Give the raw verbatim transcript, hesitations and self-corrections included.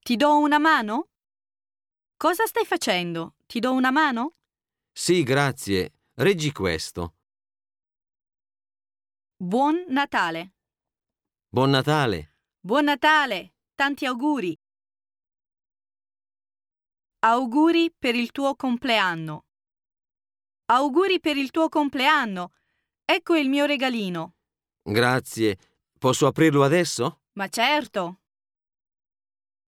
Ti do una mano? Cosa stai facendo? Ti do una mano? Sì, grazie. Reggi questo. Buon Natale. Buon Natale. Buon Natale! Tanti auguri! Auguri per il tuo compleanno. Auguri per il tuo compleanno! Ecco il mio regalino. Grazie. Posso aprirlo adesso? Ma certo!